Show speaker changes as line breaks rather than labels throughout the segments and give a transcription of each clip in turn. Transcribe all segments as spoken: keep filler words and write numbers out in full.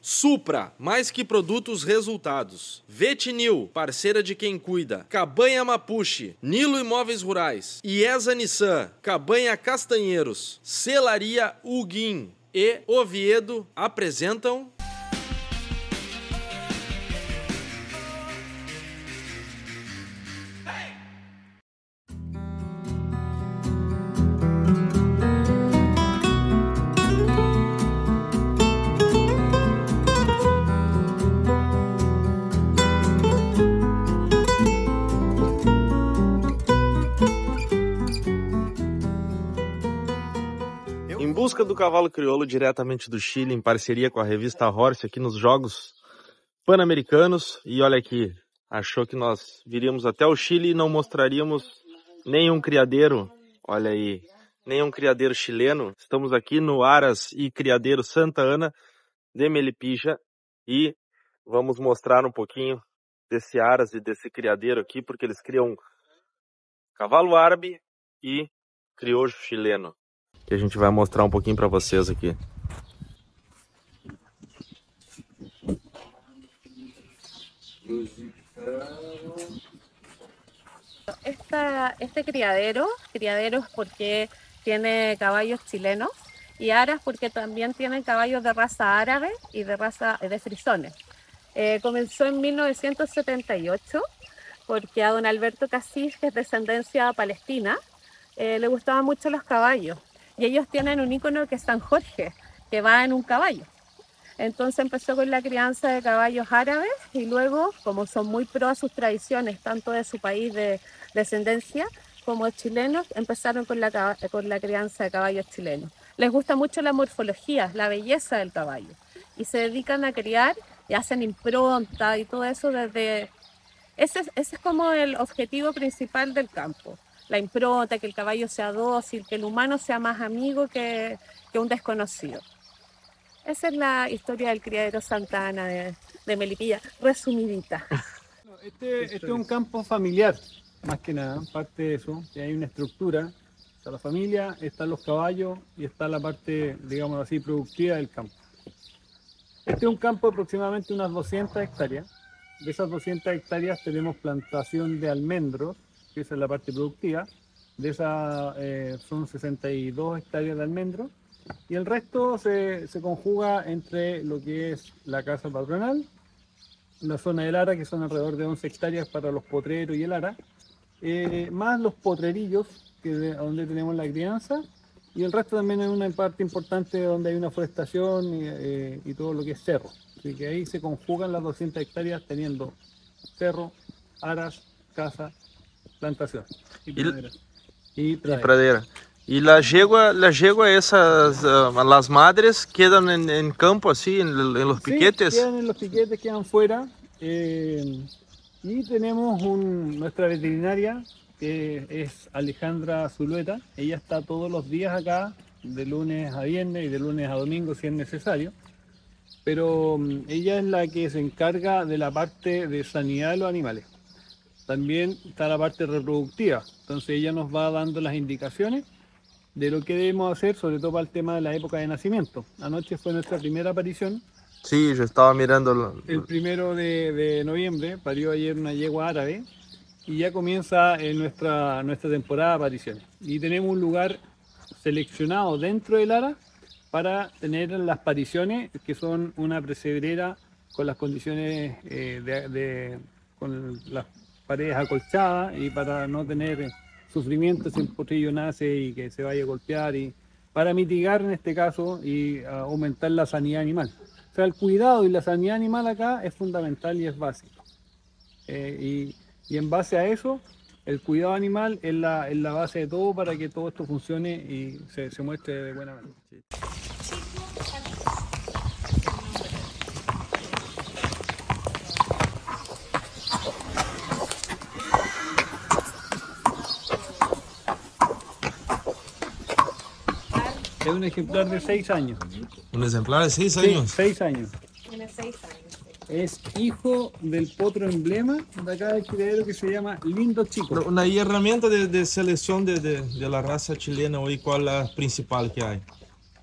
Supra, mais que produtos, resultados. Vetinil, parceira de quem cuida. Cabanha Mapuche, Nilo Imóveis Rurais. IESA Nissan, Cabanha Castanheiros. Celaria Huguim e Oviedo apresentam...
Em busca do cavalo crioulo diretamente do Chile, em parceria com a revista Horse, aqui nos Jogos Pan-Americanos. E olha aqui, achou que nós viríamos até o Chile e não mostraríamos nenhum criadeiro. Olha aí, nenhum criadeiro chileno. Estamos aqui no Aras e Criadeiro Santa Ana de Melipilla e vamos mostrar um pouquinho desse Aras e desse criadeiro aqui, porque eles criam cavalo árabe e crioulo chileno, que a gente vai mostrar um pouquinho para vocês aqui.
Esta, este criadero, criadero es porque tiene caballos chilenos y aras porque también tienen caballos de raza árabe y de raza de frisones. Eh, comenzó en mil novecientos setenta y ocho porque a don Alberto Casís, que es descendencia palestina, eh, le gustaban mucho los caballos. Y ellos tienen un ícono que es San Jorge, que va en un caballo. Entonces empezó con la crianza de caballos árabes y luego, como son muy pro a sus tradiciones, tanto de su país de descendencia como chilenos, empezaron con la, con la crianza de caballos chilenos. Les gusta mucho la morfología, la belleza del caballo. Y se dedican a criar y hacen impronta y todo eso desde... Ese, ese es como el objetivo principal del campo. La impronta, que el caballo sea dócil, que el humano sea más amigo que, que un desconocido. Esa es la historia del criadero Santa Ana de, de Melipilla, resumidita.
Este, este es un campo familiar, más que nada, parte de eso, que hay una estructura, está la familia, están los caballos y está la parte, digamos así, productiva del campo. Este es un campo de aproximadamente unas doscientas hectáreas. De esas doscientas hectáreas tenemos plantación de almendros, que esa es la parte productiva. De esas eh, son sesenta y dos hectáreas de almendros y el resto se, se conjuga entre lo que es la casa patronal, la zona del Ara, que son alrededor de once hectáreas para los potreros y el Ara, eh, más los potrerillos, que de, donde tenemos la crianza, y el resto también es una parte importante donde hay una forestación y, eh, y todo lo que es cerro. Así que ahí se conjugan las doscientas hectáreas teniendo cerro, aras, casa, plantación y pradera. Y pradera.
Y, pradera. y la yegua, la yegua esas, uh, las madres quedan en, en campo así, en, en los piquetes.
Sí, quedan en los piquetes, quedan fuera. Eh, y tenemos un, nuestra veterinaria, que es Alejandra Zulueta. Ella está todos los días acá, de lunes a viernes y de lunes a domingo si es necesario. Pero um, ella es la que se encarga de la parte de sanidad de los animales. También está la parte reproductiva, entonces ella nos va dando las indicaciones de lo que debemos hacer, sobre todo para el tema de la época de nacimiento. Anoche fue nuestra primera aparición.
Sí, yo estaba mirando.
El primero de, de noviembre, parió ayer una yegua árabe y ya comienza en nuestra, nuestra temporada de apariciones. Y tenemos un lugar seleccionado dentro del Ara para tener las pariciones, que son una pesebrera con las condiciones eh, de, de con las paredes acolchadas y para no tener sufrimiento si el potrillo nace y que se vaya a golpear, y para mitigar en este caso y uh, aumentar la sanidad animal. O sea, el cuidado y la sanidad animal acá es fundamental y es básico. Eh, y, y en base a eso, el cuidado animal es la, es la base de todo para que todo esto funcione y se, se muestre de buena manera. Sí. Es un ejemplar de seis años.
¿Un ejemplar de seis
Sí,
años?
seis años.
Tiene seis años.
Es hijo del potro emblema de acá del criadero que se llama Lindo Chico.
Una herramienta de, de selección de, de, de la raza chilena hoy, ¿cuál es la principal que hay?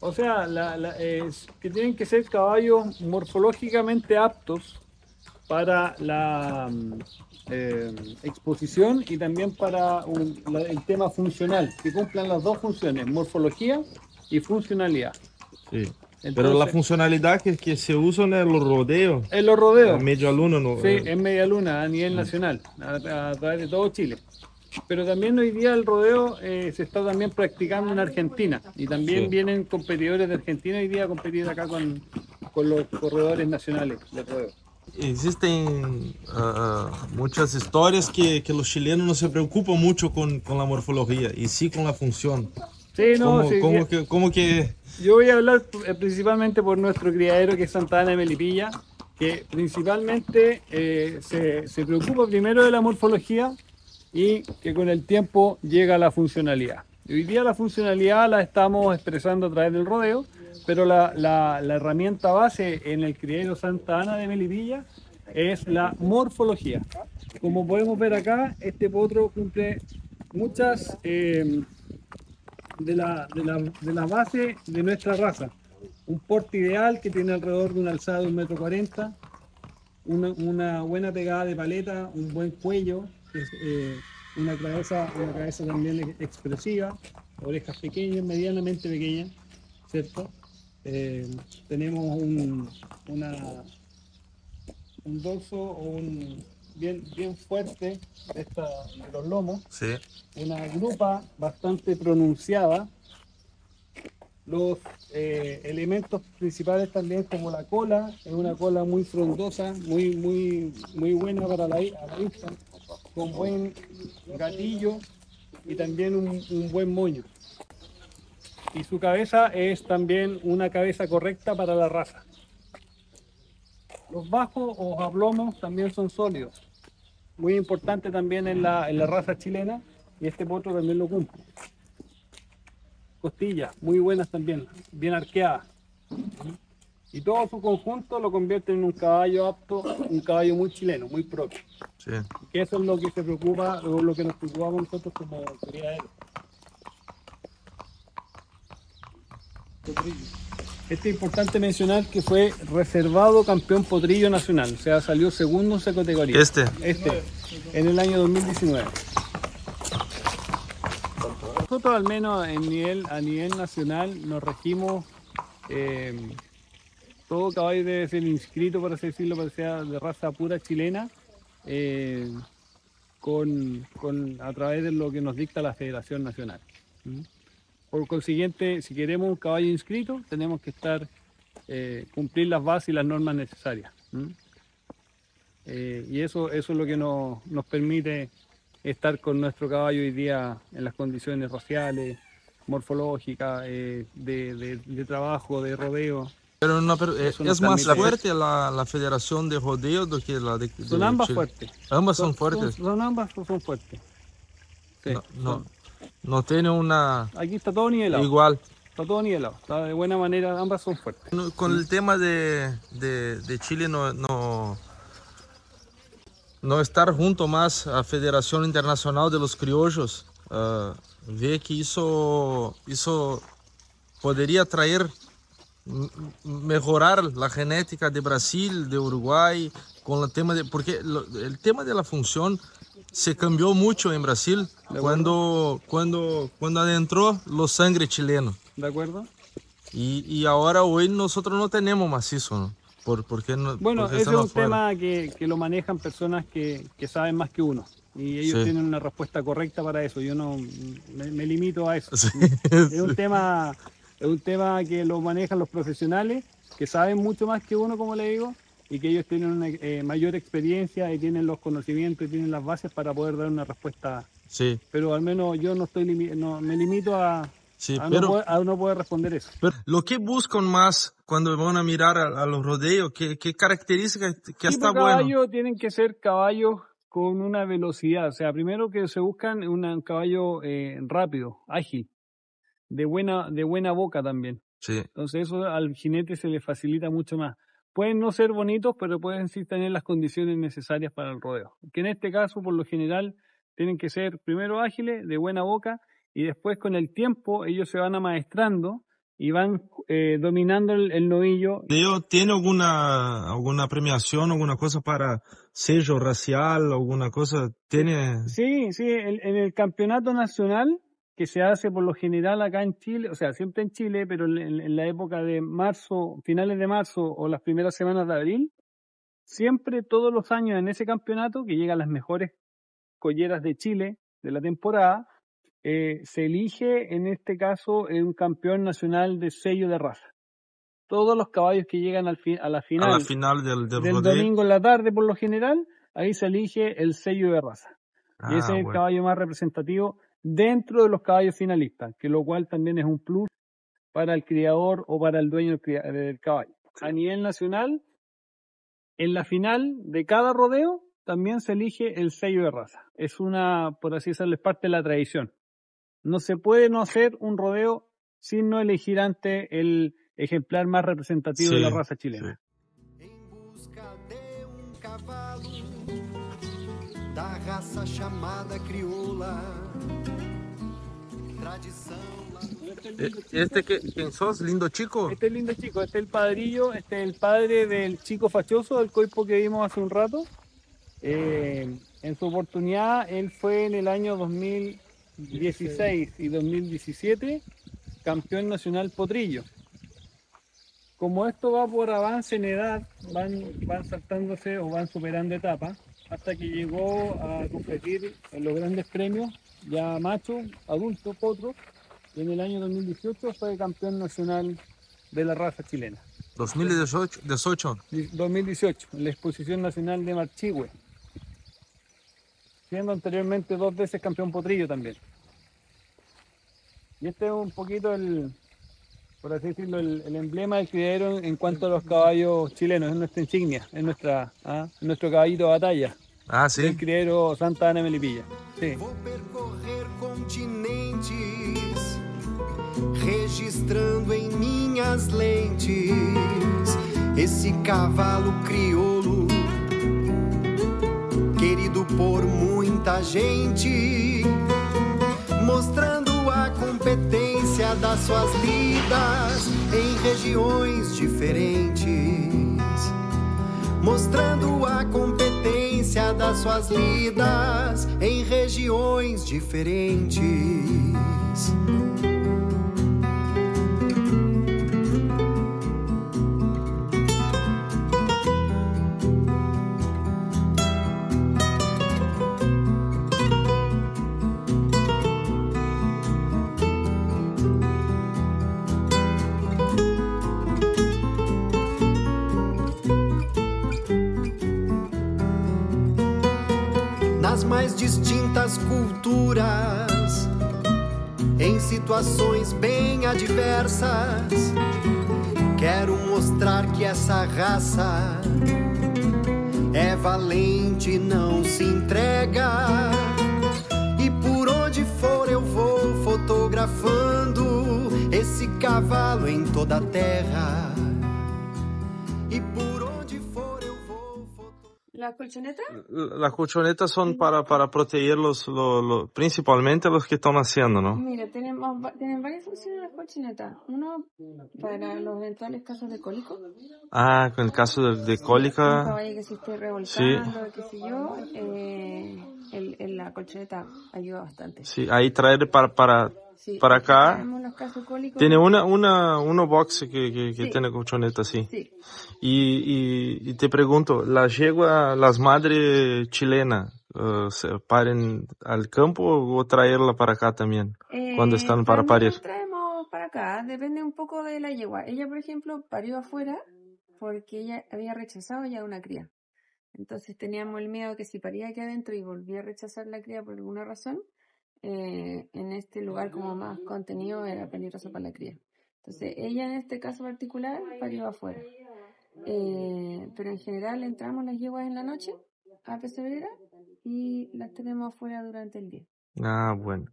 O sea, la, la, es que tienen que ser caballos morfológicamente aptos para la eh, exposición y también para un, la, el tema funcional, que cumplan las dos funciones, morfología y funcionalidad.
Sí.
Entonces,
Pero la funcionalidad que, que se usa en los rodeos,
en los rodeos,
en media luna, no,
sí,
eh,
en media luna a nivel nacional, a, a través de todo Chile. Pero también hoy día el rodeo eh, se está también practicando en Argentina y también
Sí.
vienen competidores de Argentina hoy día a competir acá con, con los corredores nacionales de rodeo.
Existen uh, muchas historias que, que los chilenos no se preocupan mucho con, con la morfología y sí con la función.
Sí, no,
¿Cómo,
sí,
cómo
sí.
que, cómo que
Yo voy a hablar eh, principalmente por nuestro criadero que es Santa Ana de Melipilla, que principalmente eh, se, se preocupa primero de la morfología y que con el tiempo llega a la funcionalidad. Y hoy día la funcionalidad la estamos expresando a través del rodeo, pero la, la, la herramienta base en el criadero Santa Ana de Melipilla es la morfología. Como podemos ver acá, este potro cumple muchas eh, de la, de, la, de la base de nuestra raza. Un porte ideal que tiene alrededor de una alzada de un metro cuarenta, una, una buena pegada de paleta, un buen cuello, eh, una, cabeza, una cabeza también expresiva, orejas pequeñas, medianamente pequeñas, ¿cierto? Eh, tenemos un, una, un dorso o un, bien, bien fuerte de, esta, de los lomos,
sí.
una grupa bastante pronunciada. Los eh, elementos principales también como la cola, es una cola muy frondosa, muy, muy, muy buena para la, a la vista, con buen gatillo y también un, un buen moño. Y su cabeza es también una cabeza correcta para la raza. Los bajos o ablomos también son sólidos, muy importante también en la, en la raza chilena, y este potro también lo cumple. Costillas muy buenas también, bien arqueadas. Y todo su conjunto lo convierte en un caballo apto, un caballo muy chileno, muy propio.
Sí.
Que eso es lo que se preocupa, o lo que nos preocupamos nosotros como criaderos. Este es importante mencionar que fue reservado campeón potrillo nacional, o sea, salió segundo en su categoría.
Este.
Este, en el año dos mil diecinueve. Nosotros al menos en nivel, a nivel nacional nos regimos, eh, todo caballo debe ser inscrito, por así decirlo, para que sea de raza pura chilena, eh, con, con, a través de lo que nos dicta la Federación Nacional. ¿Mm? Por consiguiente, si queremos un caballo inscrito, tenemos que estar, eh, cumplir las bases y las normas necesarias. ¿Mm? Eh, y eso, eso es lo que nos, nos permite estar con nuestro caballo hoy día en las condiciones raciales, morfológicas, eh, de, de, de trabajo, de rodeo.
Pero, no, pero eh,
Eso nos
es más
permite-
fuerte la, la Federación de Rodeo do que la de, de
Son ambas
Chile.
fuertes.
Ambas son fuertes.
Son, son ambas son fuertes. Sí,
No, no,
son-
no tiene una
Aquí está todo nivelado.
igual.
Está todo nivelado. Está de buena manera, ambas son fuertes.
No, con el tema de, de, de Chile no, no, no estar junto más a Federación Internacional de los Criollos, uh, ve que eso, eso podría traer, m- mejorar la genética de Brasil, de Uruguay, con el tema de, porque lo- el tema de la función se cambió mucho en Brasil cuando, cuando, cuando adentró los sangre chileno.
¿De acuerdo?
Y, y ahora hoy nosotros no tenemos más eso, ¿no? Por, porque no,
Bueno,
porque
ese es
están
un
afuera.
tema que, que lo manejan personas que, que saben más que uno. Y ellos
Sí.
tienen una respuesta correcta para eso. Yo no me, me limito a eso.
Sí,
Es un tema, es un tema que lo manejan los profesionales, que saben mucho más que uno, como le digo, y que ellos tienen una eh, mayor experiencia y tienen los conocimientos y tienen las bases para poder dar una respuesta.
sí,
Pero al menos yo no estoy limi- no, me limito a,
sí,
a, no
pero,
poder, a no poder responder eso.
pero lo que buscan más cuando van a mirar a, a los rodeos, ¿qué, qué características que
Tipo
está
de
bueno?
caballo tienen que ser caballos con una velocidad, o sea, primero que se buscan una- un caballo eh, rápido, ágil, de buena, de buena boca también.
Sí,
Entonces eso al jinete se le facilita mucho más. Pueden no ser bonitos, pero pueden sí tener las condiciones necesarias para el rodeo. Que en este caso, por lo general, tienen que ser primero ágiles, de buena boca, y después con el tiempo ellos se van amaestrando y van eh, dominando el, el novillo.
¿Tiene alguna, alguna premiación, alguna cosa para sello racial, alguna cosa? ¿Tiene?
Sí, sí, el- en el campeonato nacional que se hace por lo general acá en Chile, o sea, siempre en Chile, pero en, en la época de marzo, finales de marzo o las primeras semanas de abril, siempre todos los años en ese campeonato, que llegan las mejores colleras de Chile de la temporada, eh, se elige en este caso eh, un campeón nacional de sello de raza. Todos los caballos que llegan al fi- a la
A
final,
la final del, del
del
rodeo.
domingo en la tarde por lo general, ahí se elige el sello de raza. Y ese
Ah,
es el
bueno.
caballo más representativo dentro de los caballos finalistas, que lo cual también es un plus para el criador o para el dueño del cria- del caballo. A nivel nacional, en la final de cada rodeo también se elige el sello de raza. Es una, por así decirlo, es parte de la tradición. No se puede no hacer un rodeo sin no elegir antes el ejemplar más representativo de la
Sí,
raza chilena.
sí.
Em busca de um cavalo da raça chamada crioula, tradição.
¿Este que, quién sos? ¿Lindo chico?
Este es lindo chico, este es el padrillo, este es el padre del chico fachoso, del coipo que vimos hace un rato. Eh, en su oportunidad, él fue en el año dos mil dieciséis y dos mil diecisiete campeón nacional potrillo. Como esto va por avance en edad, van, van saltándose o van superando etapas, hasta que llegó a competir en los grandes premios, ya macho, adulto, potro, y en el año dos mil dieciocho fue campeón nacional de la raza chilena.
dos mil dieciocho.
dos mil dieciocho, en la exposición nacional de Marchihue, siendo anteriormente dos veces campeón potrillo también. Y este es un poquito el, por así decirlo, el, el emblema del criadero en cuanto a los caballos chilenos, es nuestra insignia, es nuestra, ¿ah? es nuestro caballito de batalla,
Ah,
del
sí.
criadero Santa Ana Melipilla. Sí.
Vou percorrer continentes, registrando em minhas lentes esse cavalo crioulo, querido por muita gente, mostrando a competência das suas lidas em regiões diferentes, mostrando a competência das suas lidas em regiões diferentes. Nas mais distintas culturas, em situações bem adversas, quero mostrar que essa raça é valente e não se entrega. E por onde for eu vou fotografando esse cavalo em toda a terra. E por onde for eu vou fotografando.
¿La colchoneta?
Las colchonetas son para, para proteger los, lo- lo- principalmente los que están naciendo, ¿no?
Mira, tenemos, va- tienen varias funciones las colchonetas. Uno, para los eventuales casos de cólico.
Ah, con el caso de, de
Un
cólica.
caballo que se esté revolcando, qué sé yo, eh, el, el- la colchoneta ayuda bastante.
Sí, ahí traer para, para,
Sí,
para acá.
tenemos los casos cólicos.
Tiene una, una, uno box que, que, que
Sí.
tiene colchoneta, sí.
Sí.
Y, y, y te pregunto, ¿la yegua, las madres chilenas, eh, se paren al campo o traerla para acá también? Cuando están para
también
parir.
la traemos para acá, depende un poco de la yegua. Ella, por ejemplo, parió afuera porque ella había rechazado ya una cría. Entonces teníamos el miedo que si paría aquí adentro y volvía a rechazar la cría por alguna razón, eh, en este lugar como más contenido era peligroso para la cría. Entonces ella en este caso particular parió afuera. Eh, pero en general entramos las yeguas en la noche a pesebrera y las tenemos afuera durante el día.
Ah, bueno.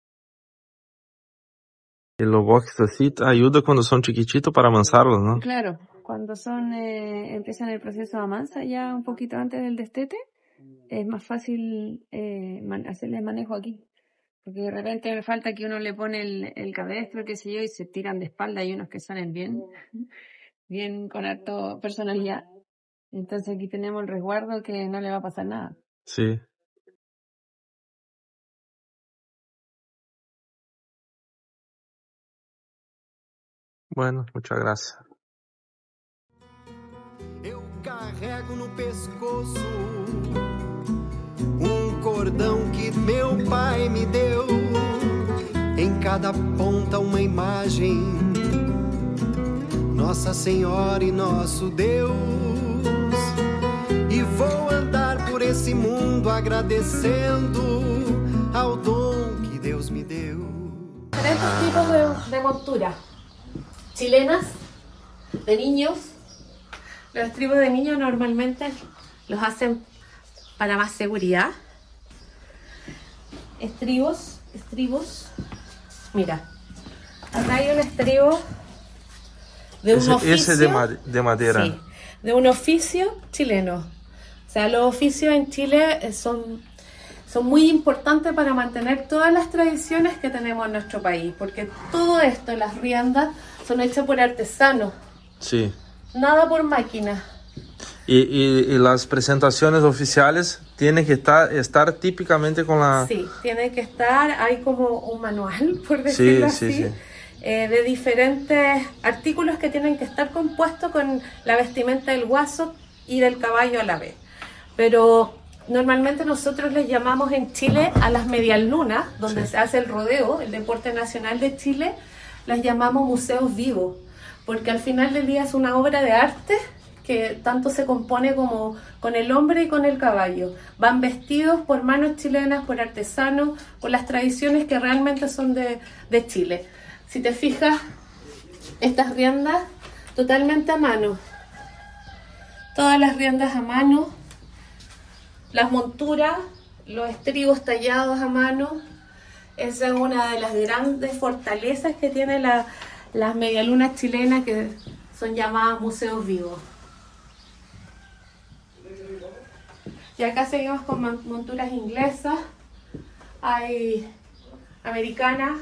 Y los boxes así te ayuda cuando son chiquititos para amansarlos, ¿no?
Claro, cuando son eh, empiezan el proceso de amansa ya un poquito antes del destete, es más fácil eh, man- hacerles manejo aquí, Porque de repente me falta que uno le pone el, el cabestro, qué sé yo, y se tiran de espalda. Hay unos que salen bien, bien con harto personalidad. Entonces aquí tenemos el resguardo que no le va a pasar nada.
Sí. Bueno, muchas gracias.
Eu carrego no pescoço um cordão que meu pai me deu. Em cada ponta uma imagem, Nossa Senhora e nosso Deus. E vou andar por esse mundo agradecendo ao dom que Deus me deu.
Diferentes tipos de, de montura. Chilenas, de niños. Los estribos de niños normalmente los hacen para más seguridad. Estribos, estribos. Mira, acá hay un estribo de un
ese,
oficio.
Ese de, ma de madera.
Sí, de un oficio chileno. O sea, los oficios en Chile son, son muy importantes para mantener todas las tradiciones que tenemos en nuestro país. Porque todo esto, las riendas, son hechas por artesanos.
Sí.
Nada por máquina.
Y, y, y las presentaciones oficiales tienen que estar, estar típicamente con la...
Sí, tiene que estar, hay como un manual, por decirlo
sí,
así,
sí, sí.
Eh, de diferentes artículos que tienen que estar compuestos con la vestimenta del guaso y del caballo a la vez. Pero normalmente nosotros les llamamos en Chile a las medialunas, donde sí. se hace el rodeo, el deporte nacional de Chile, las llamamos museos vivos, porque al final del día es una obra de arte que tanto se compone como con el hombre y con el caballo. Van vestidos por manos chilenas, por artesanos, por las tradiciones que realmente son de, de Chile. Si te fijas, estas riendas totalmente a mano. Todas las riendas a mano. Las monturas, los estribos tallados a mano. Esa es una de las grandes fortalezas que tiene la, las medialunas chilenas, que son llamadas museos vivos. Y acá seguimos con monturas inglesas, hay americanas.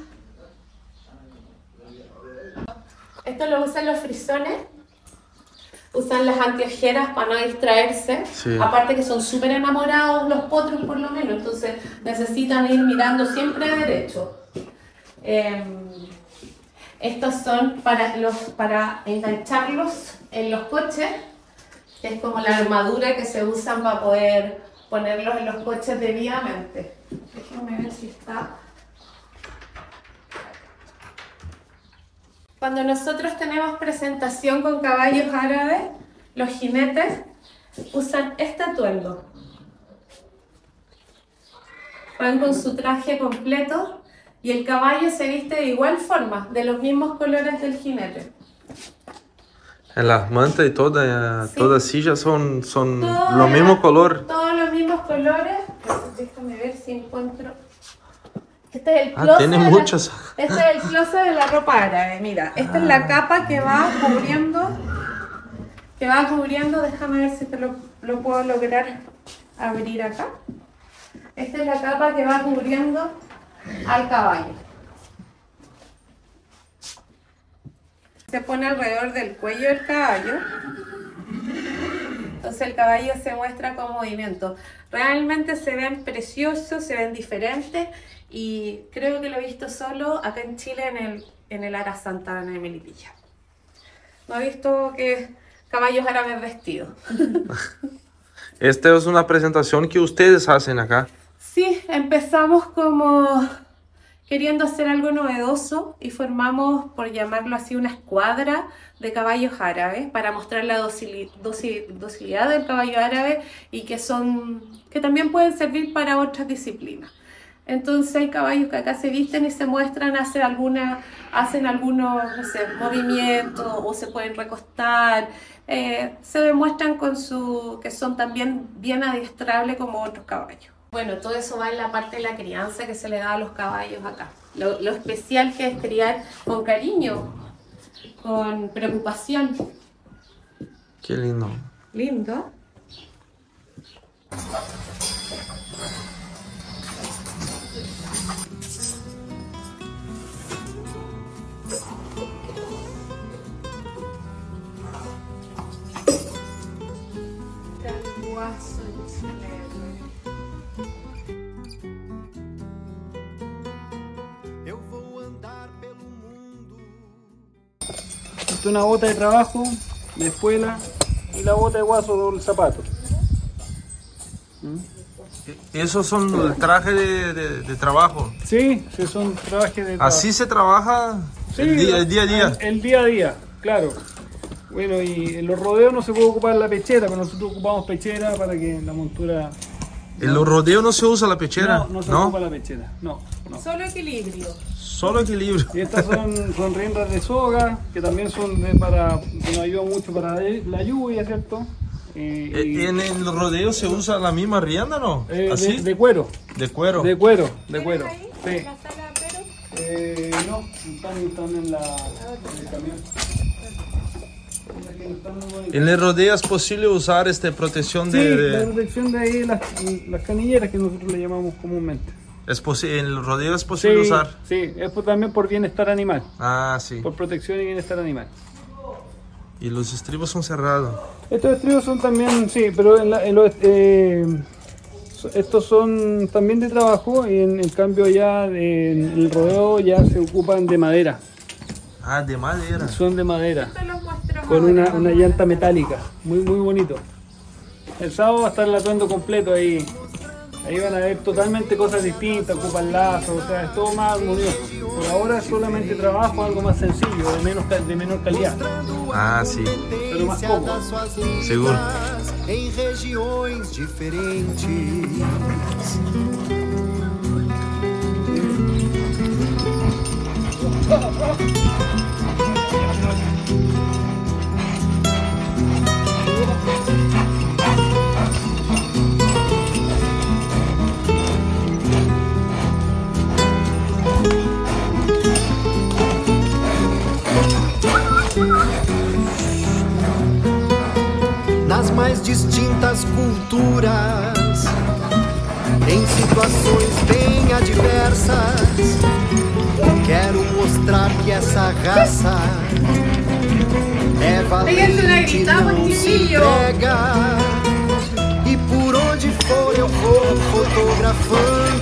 Esto lo usan los frisones, usan las anteojeras para no distraerse. Sí. Aparte que son súper enamorados los potros por lo menos, entonces necesitan ir mirando siempre derecho. Eh, estos son para, los, para engancharlos en los coches. Es como la armadura que se usan para poder ponerlos en los coches debidamente. Déjenme ver si está. Cuando nosotros tenemos presentación con caballos árabes, los jinetes usan este atuendo. Van con su traje completo y el caballo se viste de igual forma, de los mismos colores del jinete.
En las mantas y todas, sí. todas sillas son, son los mismos colores.
Todos los mismos colores. Déjame ver si encuentro. Este es el
ah,
closet.
Tiene
de
muchas.
La, este es el closet de la ropa árabe. Mira, esta ah. es la capa que va cubriendo. Que va cubriendo. Déjame ver si te lo, lo puedo lograr abrir acá. Esta es la capa que va cubriendo al caballo. Se pone alrededor del cuello del caballo, entonces el caballo se muestra con movimiento. Realmente se ven preciosos, se ven diferentes y creo que lo he visto solo acá en Chile en el, en el Ara Santa Ana de Melipilla. No he visto que caballos árabes vestidos.
Esta es una presentación que ustedes hacen acá.
Sí, empezamos como queriendo hacer algo novedoso y formamos, por llamarlo así, una escuadra de caballos árabes para mostrar la docil, docil, docilidad del caballo árabe y que, son, que también pueden servir para otras disciplinas. Entonces hay caballos que acá se visten y se muestran, hacen, alguna, hacen algunos no sé, movimientos o se pueden recostar, eh, se demuestran con su, que son también bien adiestrables como otros caballos. Bueno, todo eso va en la parte de la crianza que se le da a los caballos acá. Lo, lo especial que es criar con cariño, con preocupación.
Qué lindo.
Lindo. guaso chileno.
Eu vou andar pelo mundo.
Esta es una bota de trabajo, de escuela, y la bota de guaso del zapato.
Esos son el traje de, de, de trabajo.
Sí, sí, son trajes de trabajo.
Así se trabaja
Sí,
el, día, el día a día.
El, el día a día, claro. Bueno, y en los rodeos no se puede ocupar la pechera, pero nosotros ocupamos pechera para que la montura...
En los rodeos no se usa la pechera,
No, no se
¿no?
ocupa la pechera, no, no.
Solo equilibrio.
Solo equilibrio.
Y estas son, son riendas de soga, que también son de, para, que nos ayudan mucho para la lluvia, ¿cierto? Eh, y,
En el rodeo se usa la misma rienda, ¿no?
eh,
Así,
de, de cuero,
de cuero.
de cuero, de cuero. Sí.
¿En la sala, pero?
Eh, no, están, están en, la, en el camión. Mira que están muy bonitas.
En el rodeo es posible usar este protección
Sí,
de...
la
de-
protección de ahí, las, las canilleras que nosotros le llamamos comúnmente.
es posi- en el rodeo es posible
Sí,
usar.
sí, es por- también por bienestar animal,
Ah, sí.
por protección y bienestar animal.
Y los estribos son cerrados.
Estos estribos son también, sí, pero en la- en los, eh, so- estos son también de trabajo y en, en cambio ya de- en el rodeo ya se ocupan de madera,
Ah, de madera.
son de madera,
Te los muestro
con
ahora.
una, una llanta metálica, muy muy bonito. El sábado va a estar el atuendo completo ahí, ahí van a ver totalmente cosas distintas, ocupan lazos, o sea, es todo más armonioso. Por ahora es solamente trabajo, algo más sencillo, de, menos, ca- de menor calidad.
Ah, sí.
Pero más cómodo.
Das suas lindas
Seguro.
em regiões diferentes. Nas mais distintas culturas, em situações bem adversas, quero mostrar que essa raça é valente e não se entrega. E por onde for eu vou fotografando